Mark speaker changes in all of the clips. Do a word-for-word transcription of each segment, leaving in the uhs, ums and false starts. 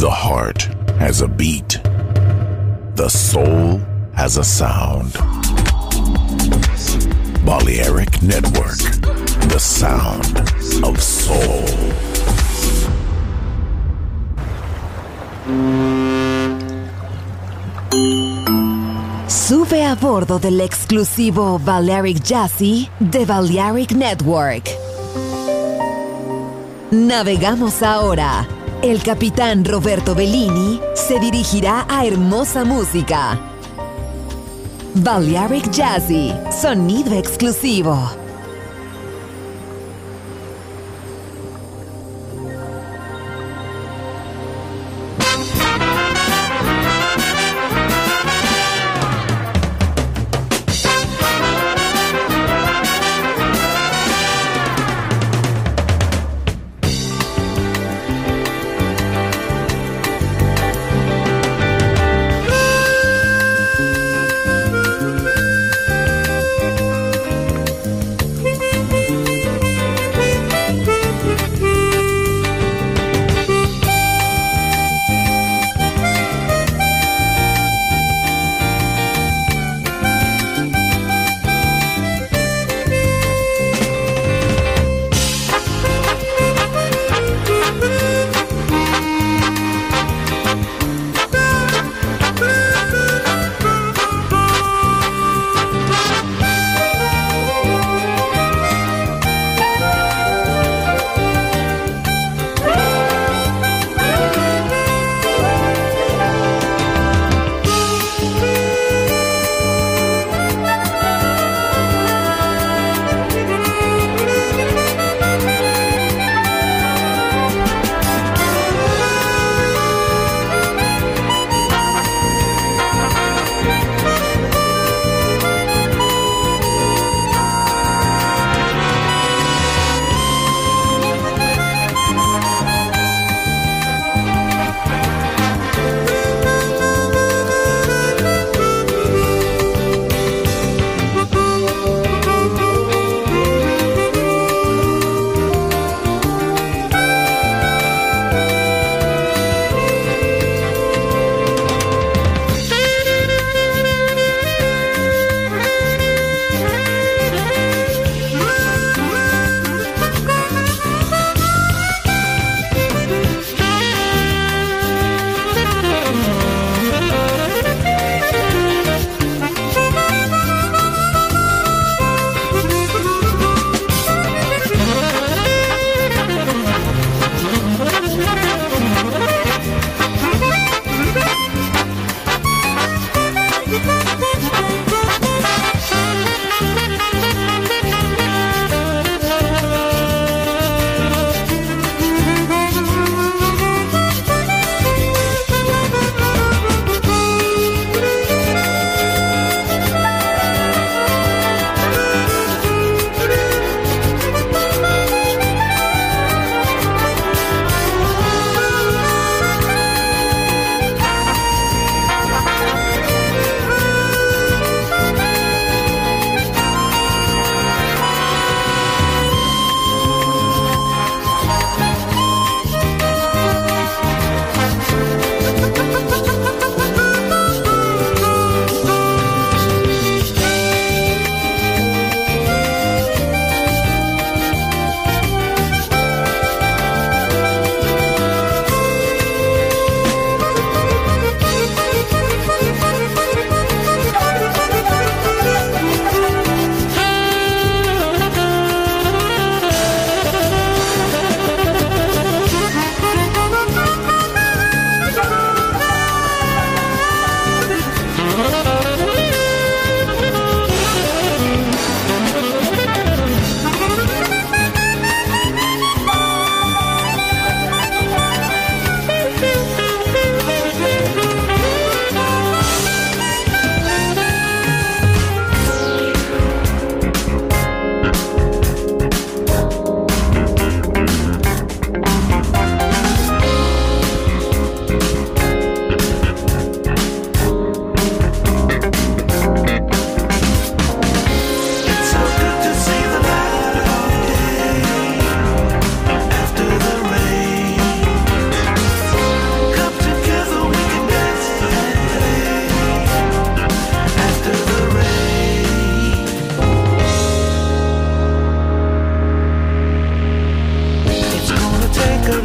Speaker 1: The heart has a beat. The soul has a sound. Balearic Network, the sound of soul.
Speaker 2: Sube a bordo del exclusivo Balearic Jazzy de Balearic Network. Navegamos ahora. El capitán Roberto Bellini se dirigirá a hermosa música. Balearic Jazzy, sonido exclusivo.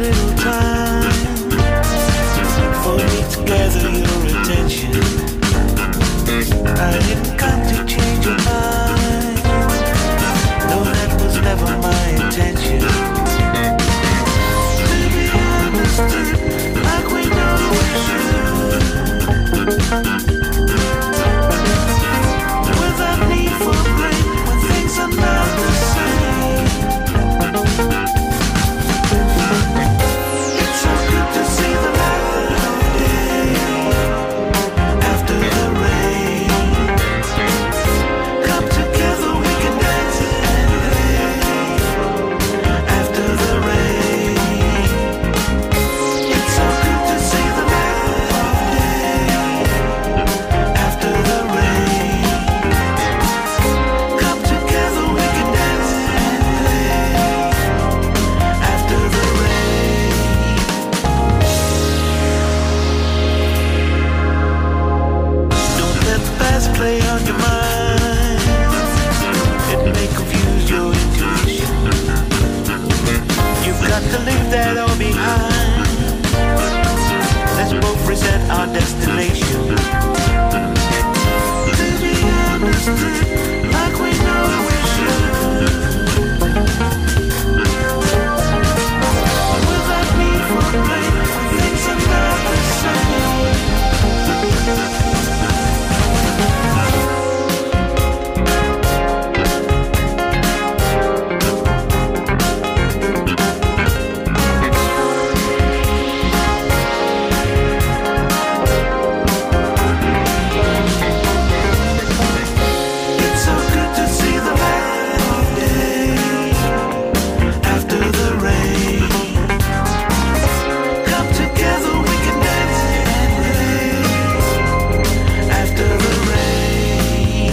Speaker 3: little time for me to gather your attention. I didn't come to change your mind. No, that was never my intention. To be understood like we know we should, without need for blame when things are not the same. It's so good to see the light of day after the rain. Come together, we can dance and play after the rain. It's so good to see the light of day after the rain. Come together, we can dance and play after the rain. Don't let the past play on your mind. It may confuse your intuition. You've got to leave that all behind. Let's both reset our destination. To be understood like we know we should, without need for blame when things are not the same. It's so good to see the light of day after the rain. Come together, we can dance and play after the rain.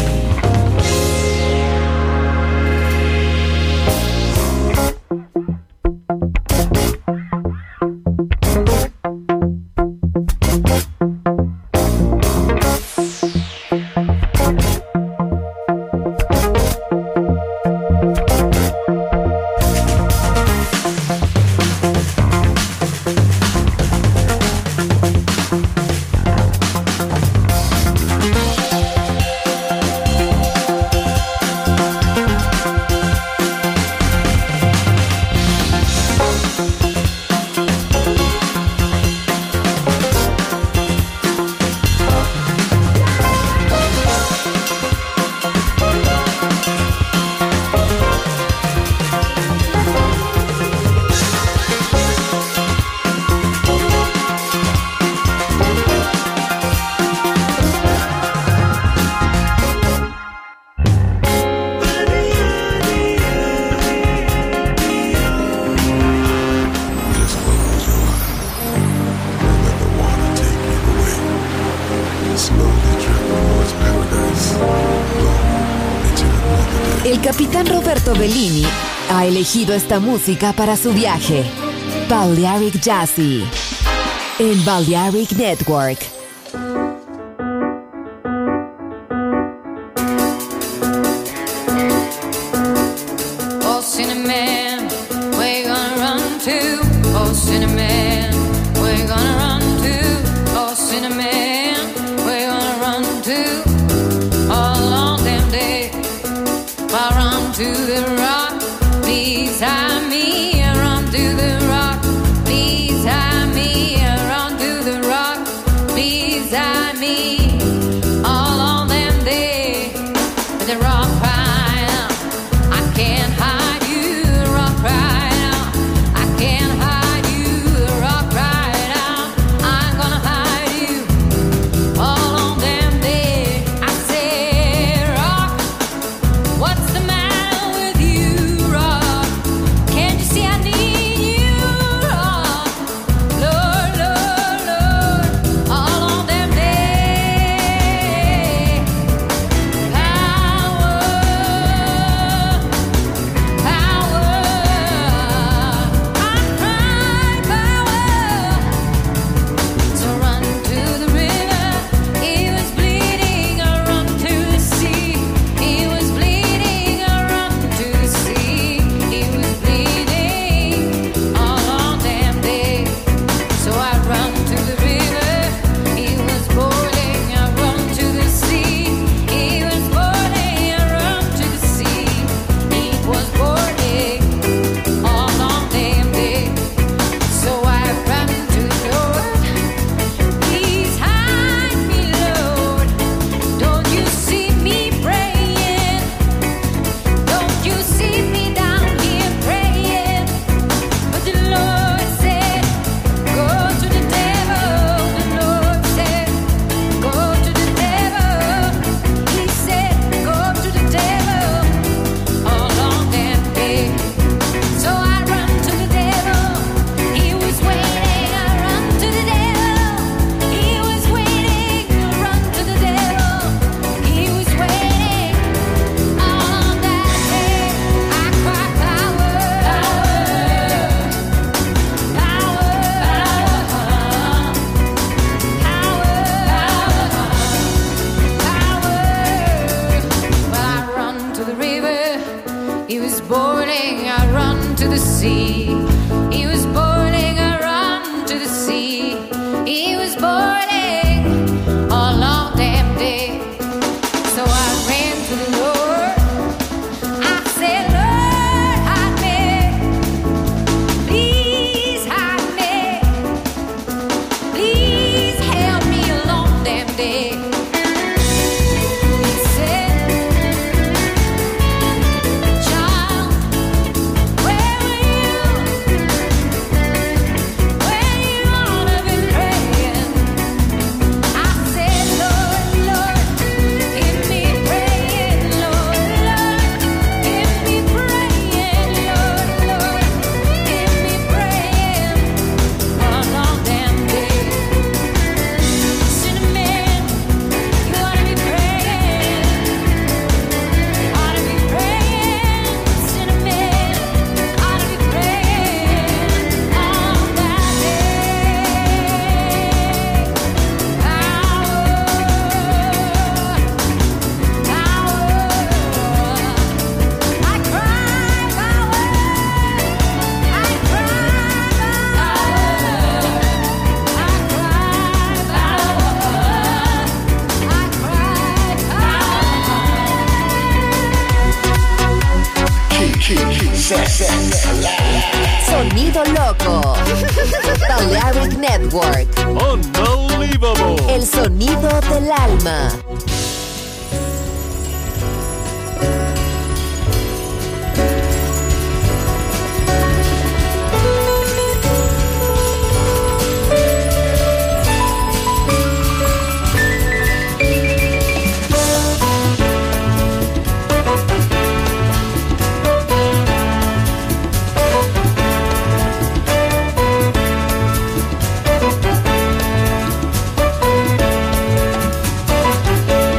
Speaker 1: Just close your eyes and let the water take you away. Slowly drift towards paradise, long into another day.
Speaker 2: El capitán Roberto Bellini ha elegido esta música para su viaje. Balearic Jazzy en Balearic Network.
Speaker 4: Oh, Cinnamon, where you gonna run to? Oh, Cinnamon, where you gonna run to? Oh, Cinnamon, where you gonna run to? All along them day, I run to the rock, please hide me. I run to the rock, please hide me. I run to the rock, please. sea. He was boiling, I run to the sea. He was boiling all long damn day. So I ran to the Lord. I said, Lord, hide me. Please hide me. Please help me a long damn day. He said, child, where were you when you ought to be praying? I said, Lord, Lord, hear me praying, Lord, Lord, hear me praying, Lord, Lord, hear me praying one long damn day. Cinnamon, you ought to be praying, ought to be praying, cinnamon, ought to be praying all that
Speaker 2: Sonido loco. Balearic Network.
Speaker 5: Unbelievable.
Speaker 2: El sonido del alma.
Speaker 3: Cinnamon,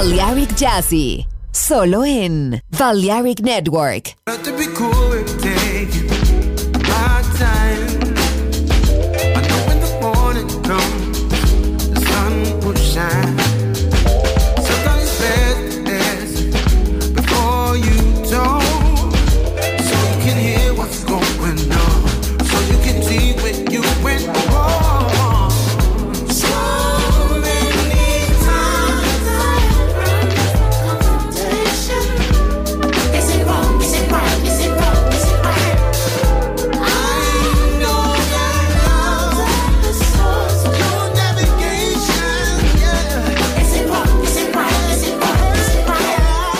Speaker 2: Balearic Jazzy, solo en Balearic Network.
Speaker 3: Not to be cool, we're taking my time. I know when the morning comes, the sun will shine. Sometimes it's best to ask before you talk, so you can hear what's going on, so you can see when you went wrong. So many times I've run from confrontation. Is it wrong? Is it right? Is it wrong? Is it right? I know that love is the source of your navigation. Yeah. Is it wrong? Is it right? Is it wrong? Is it right?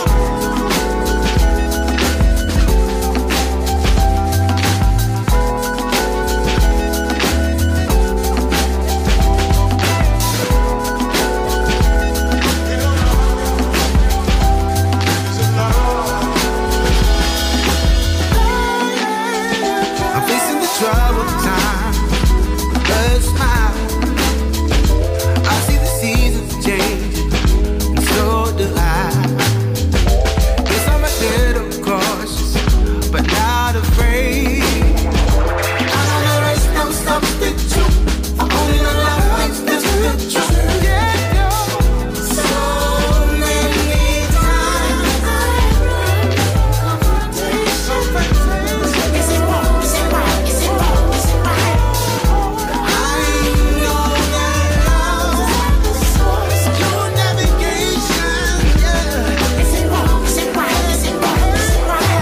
Speaker 3: I'm facing the troubled time, a smile. I see the seasons changing, and so do I. Guess I'm a little cautious, but not afraid. I don't know there's no substitute for owning a life makes this the truth. Yeah, no. So many times I run from confrontation. Is it wrong? Is it right? Is it wrong? Is it right? I know that love is the source of your navigation. Yeah. Is it wrong? Is it right? Is it wrong? Is it right?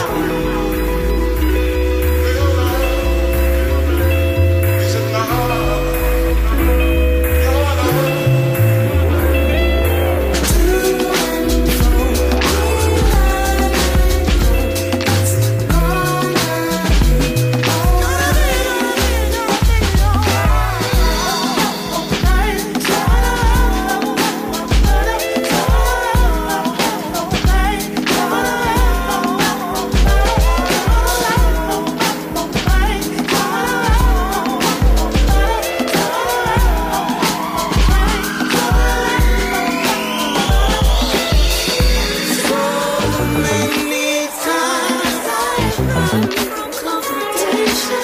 Speaker 3: Many times I've run from confrontation.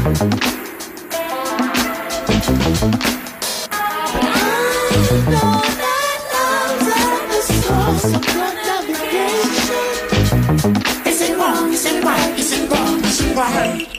Speaker 3: I know that love's the source of your navigation. Is it wrong? Is it right? Is it wrong? Is it right?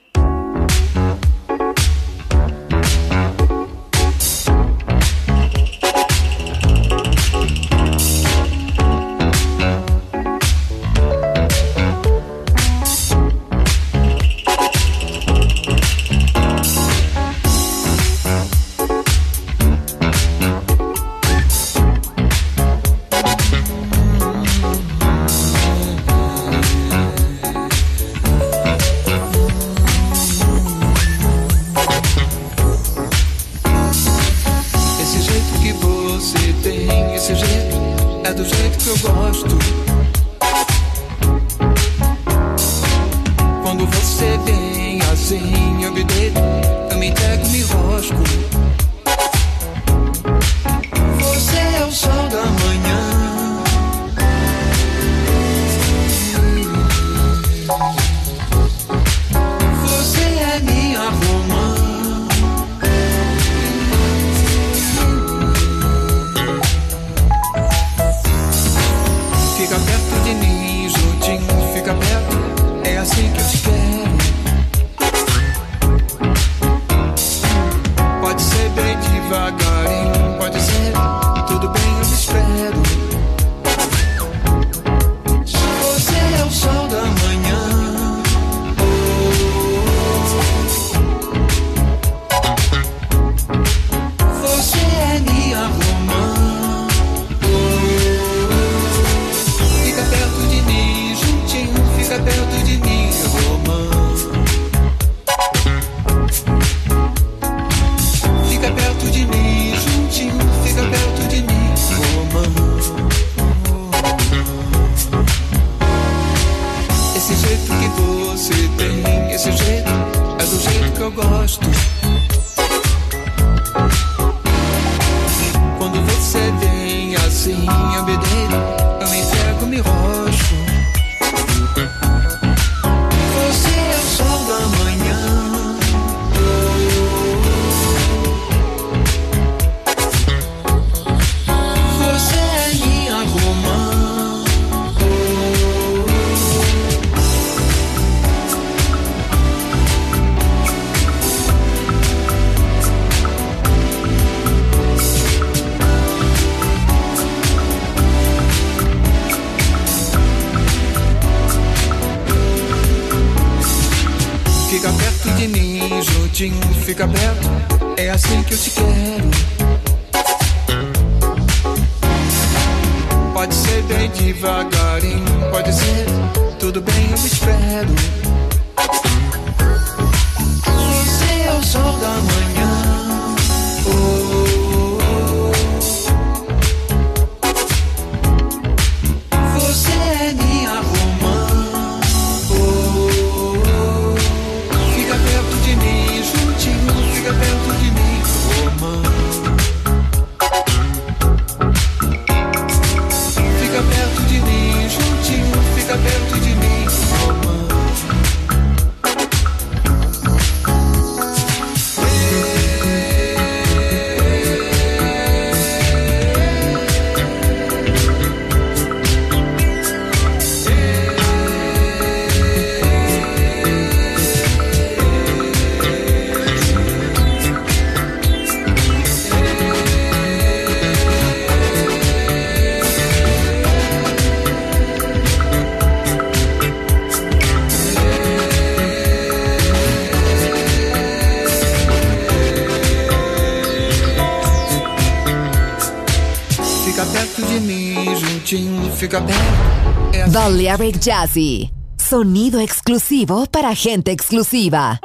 Speaker 6: Esse jeito que você tem, esse jeito é do jeito que eu gosto. Quando você vem assim, eu me deito, eu me entrego, me rosco. Você é o sol da manhã. Você é minha romã. Fica perto de mim, juntinho, fica perto. É assim que eu te quero. Pode ser bem devagarinho, pode ser, tudo bem, eu me espero. Você é o sol da manhã. Você é minha romã. Fica perto de mim, juntinho, fica perto de mim, romã. Fica perto de mim, juntinho, fica perto de mim, romã. Esse jeito que você tem, esse jeito é do jeito que eu gosto. Quando você vem assim, juntinho, fica perto, é assim que eu te quero. Pode ser bem devagarinho, pode ser, tudo bem, eu espero. Você é o sol da manhã. Oh, oh, oh. Você é minha romã. Oh, oh, oh. Fica perto de mim, juntinho, fica perto de mim, romã. Fica perto de mim, juntinho, fica perto de mim, romã. Fica bem. É assim.
Speaker 2: Balearic Jazzy, sonido exclusivo para gente exclusiva.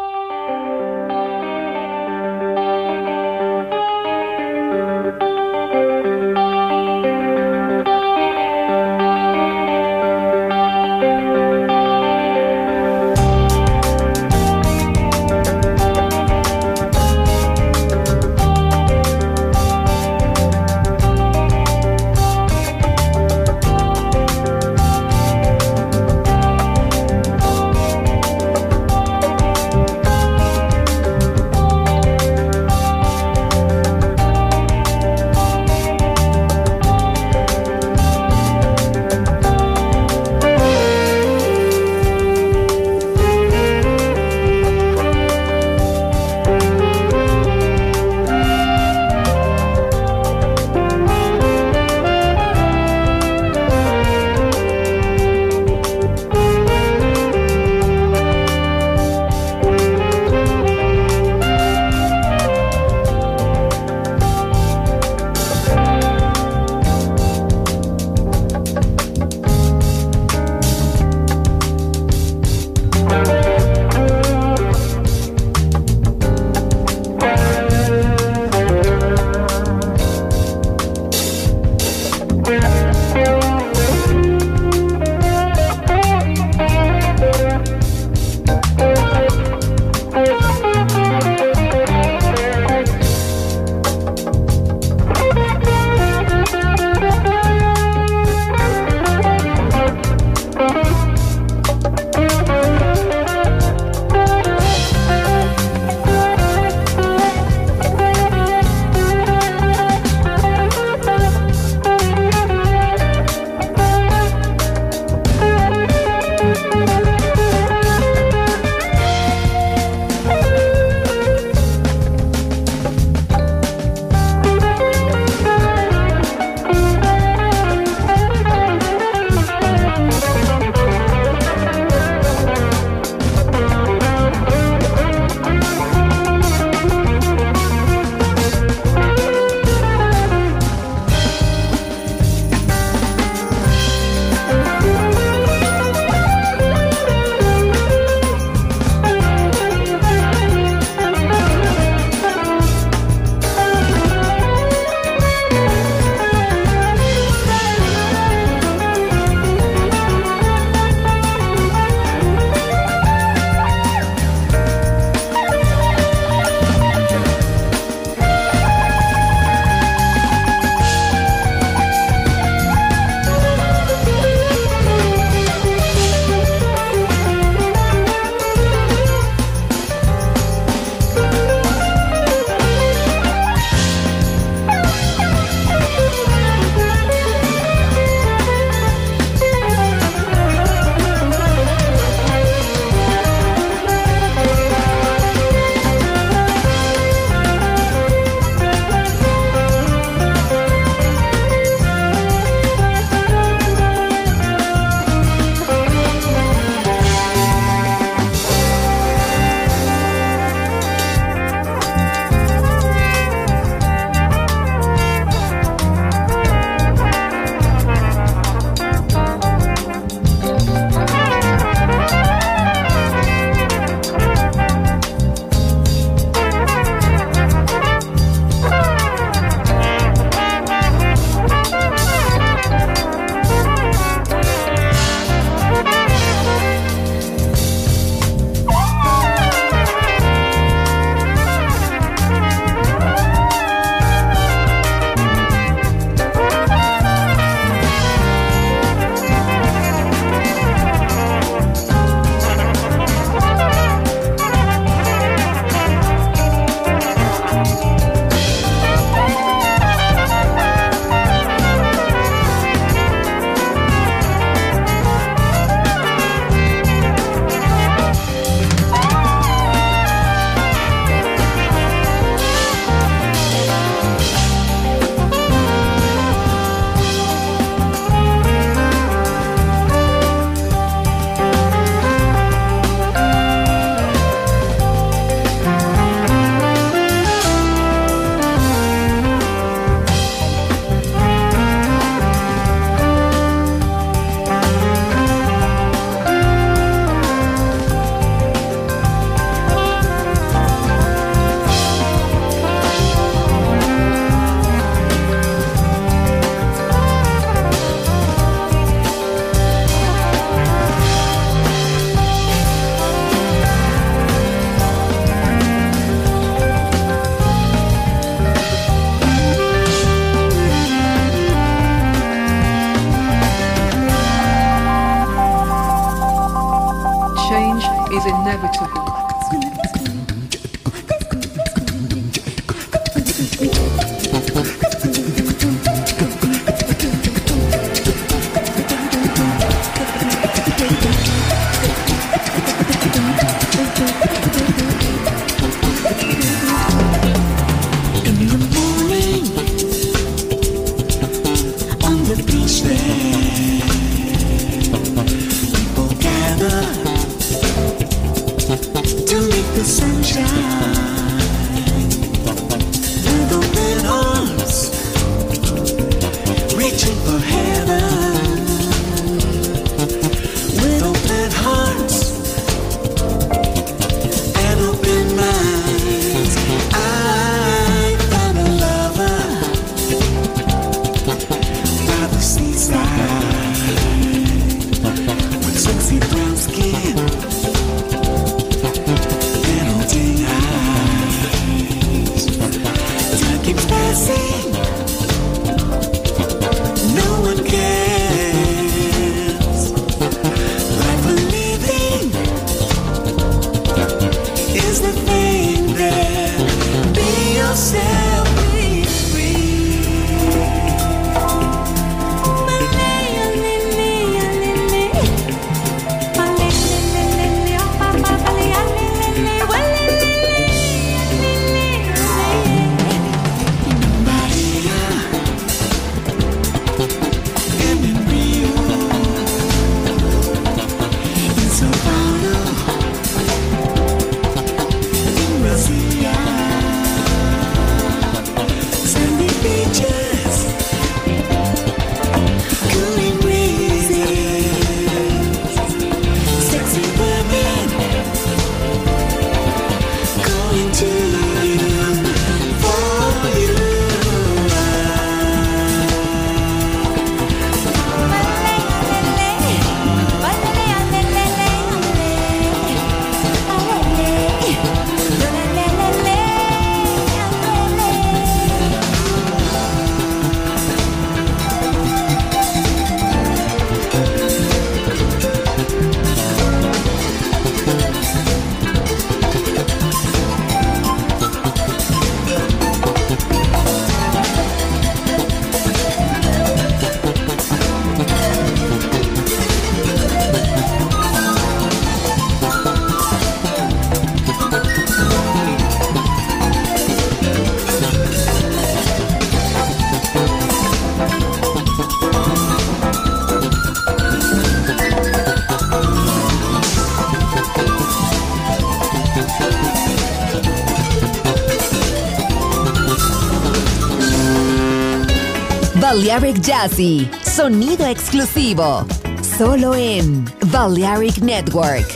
Speaker 2: Balearic Jazzy, sonido exclusivo, solo en Balearic Network.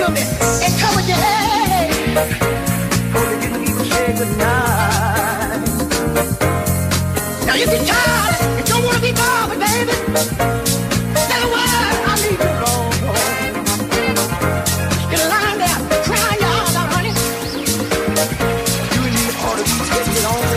Speaker 7: to me and cover your head. Only you can even say goodnight. Now you get tired and don't want to be bothered, baby. Tell the world I need you long. You're lying there crying your eyes out, honey. You and me ought to be getting it on.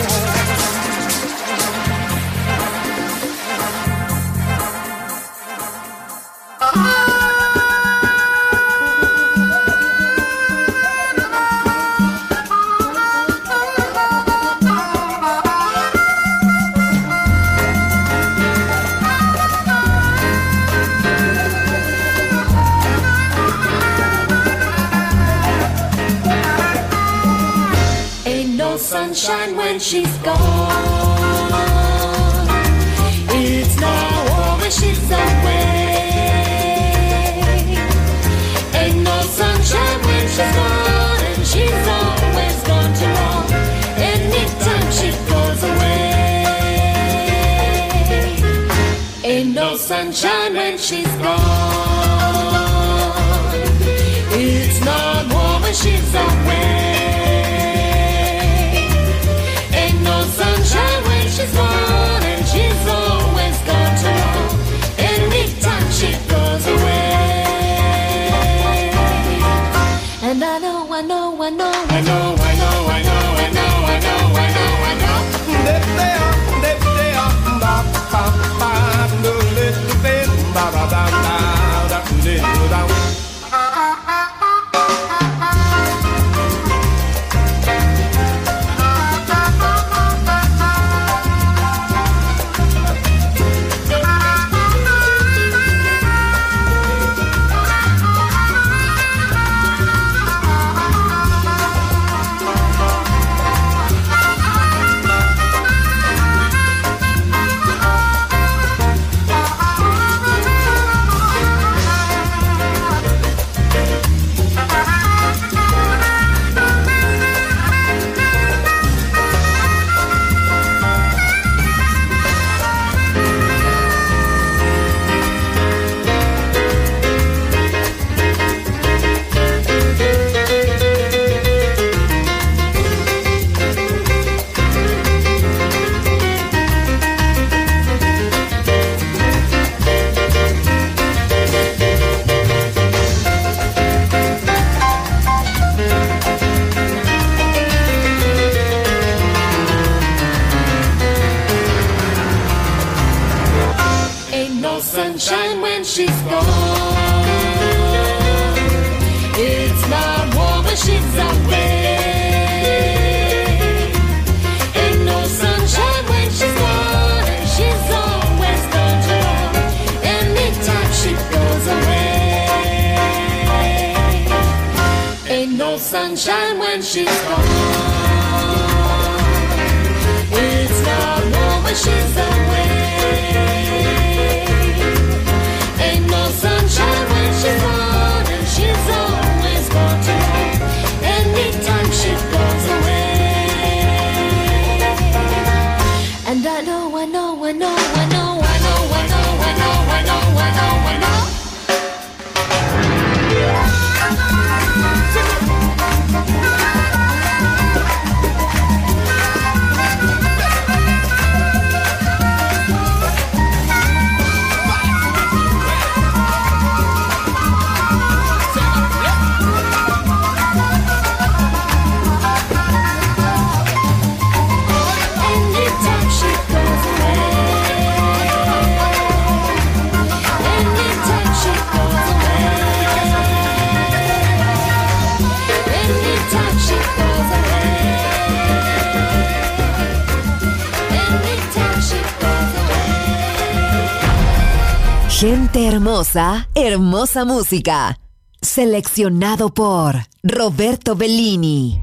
Speaker 8: Sunshine when she's gone. It's not warm when she's away. Ain't no sunshine when she's gone, and she's always gone too long. Anytime she goes away. Ain't no sunshine when she's gone. It's not warm when she's away. Sunshine when she's gone, and she's always gone too long. Anytime she goes away. And I know, I know, I know, I know, I know, I know, I know, I know, I know, I know.
Speaker 6: There they are, there they are, ba ba ba, do little bit, ba ba ba ba, da little down.
Speaker 8: Sunshine when she's gone. It's not warm when she's away. Ain't no sunshine when she's gone, and she's always gone too long. Anytime she goes away. Ain't no sunshine when she's gone. It's not warm when she's away. Ain't no sunshine when she's gone, and she's always gone too long. Anytime she goes away. And I know, I know, I know, I know, I know, I know, I know, I know, I know, I know.
Speaker 2: Gente hermosa, hermosa música. Seleccionado por Roberto Bellini.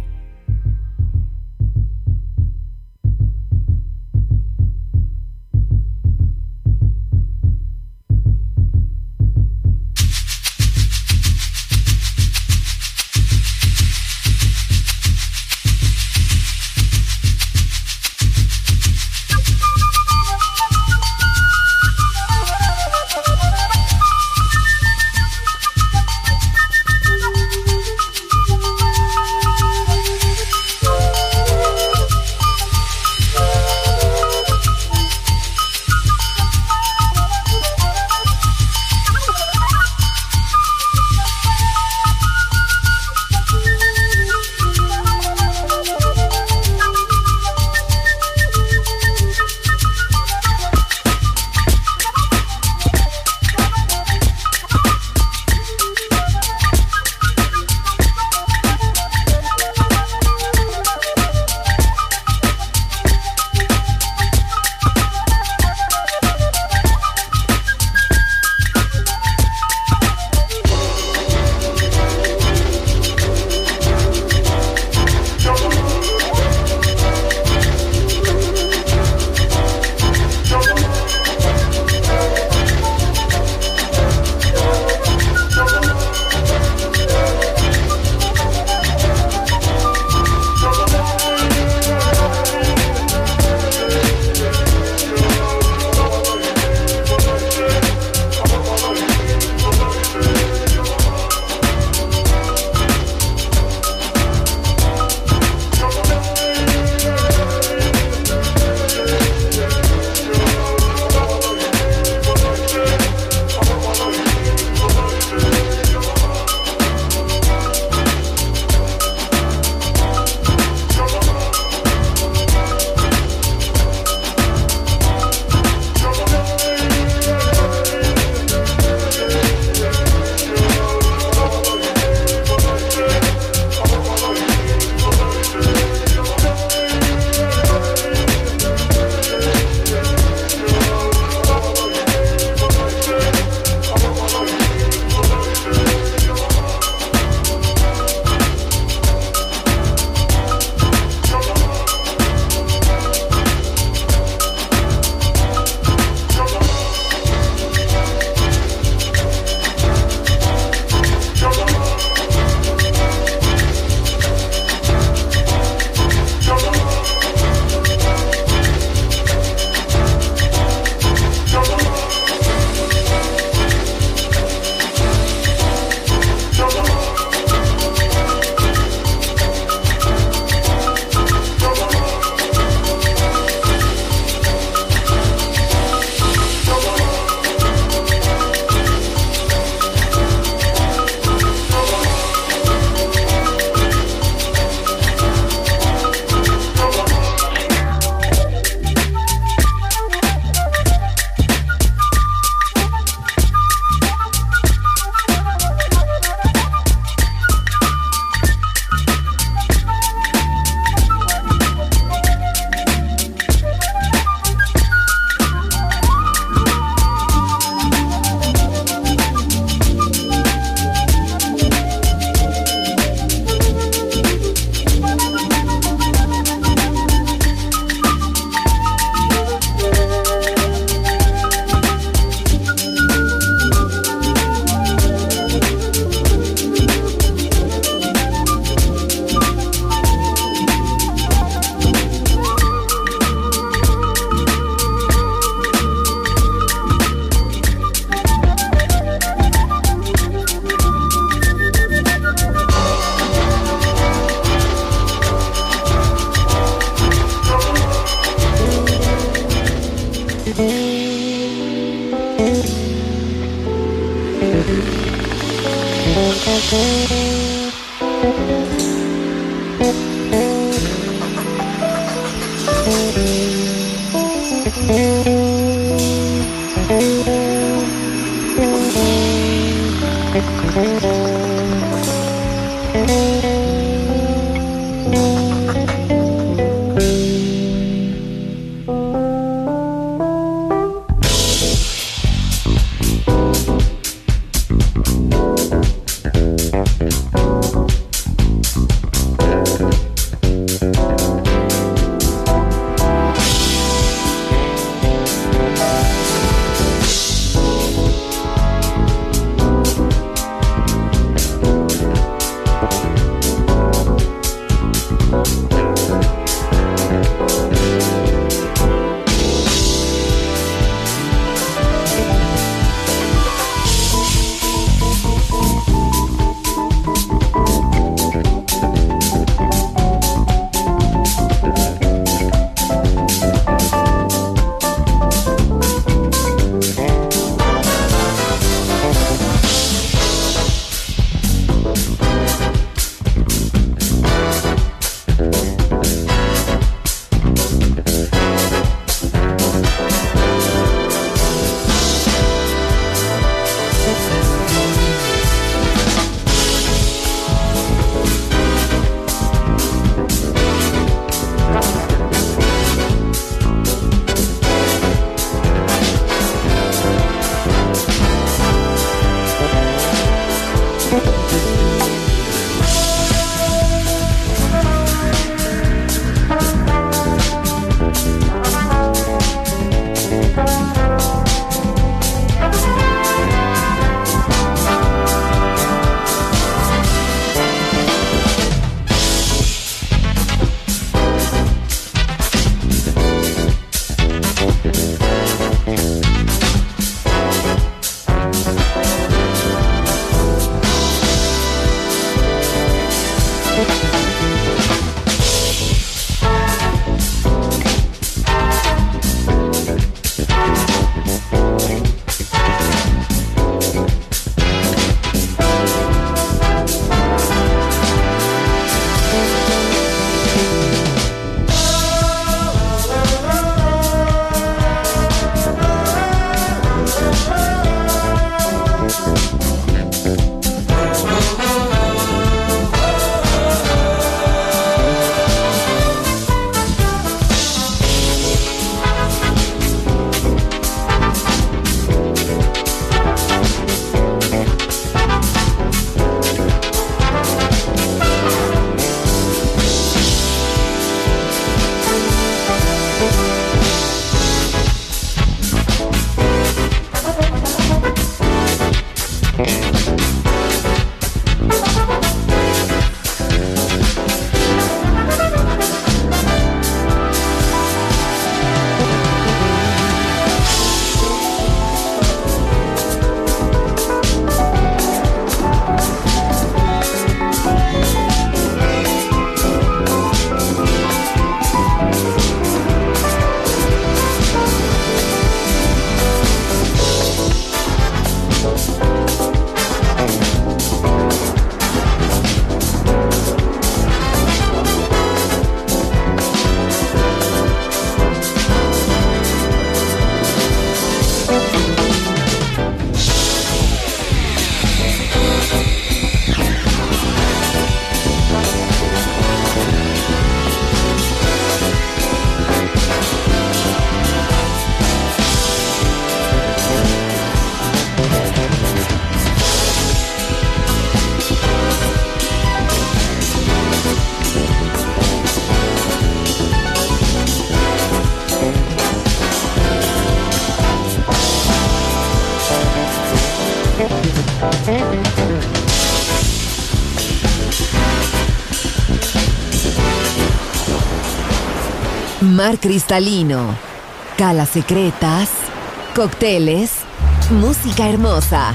Speaker 2: Mar cristalino, calas secretas, cócteles, música hermosa.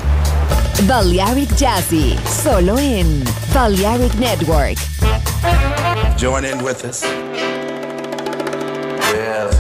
Speaker 2: Balearic Jazzy, solo en Balearic Network.
Speaker 9: Join in with us. Yes.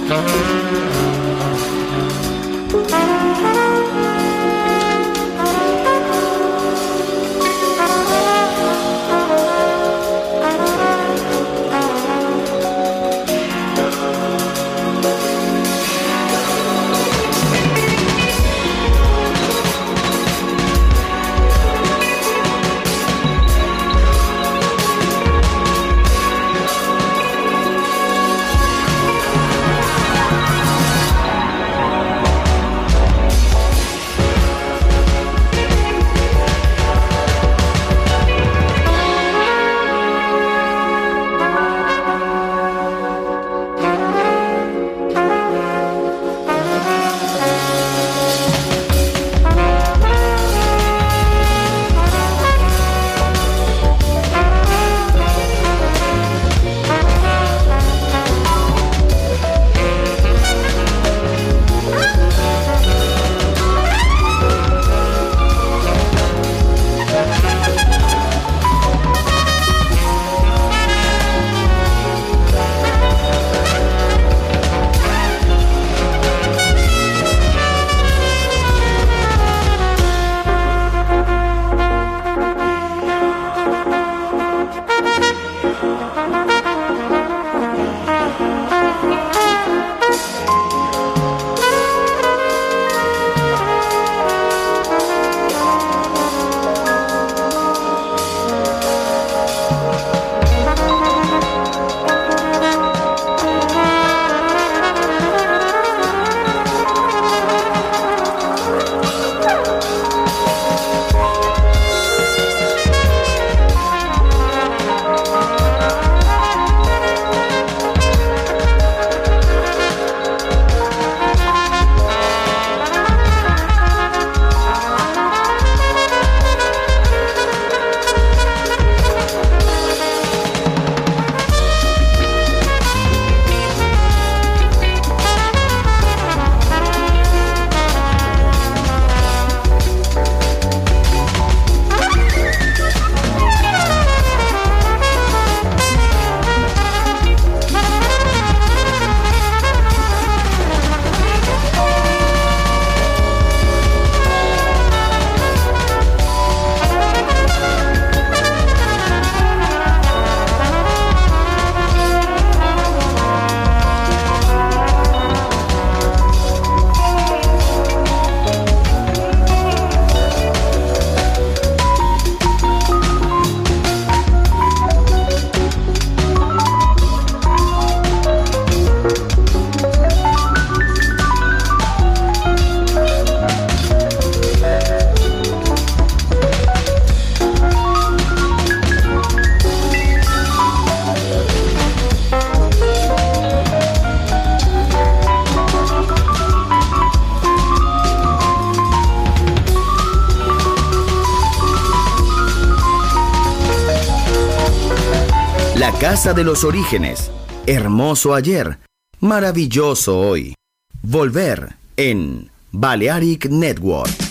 Speaker 10: La Casa de los Orígenes. Hermoso ayer, maravilloso hoy. Volver en Balearic Network.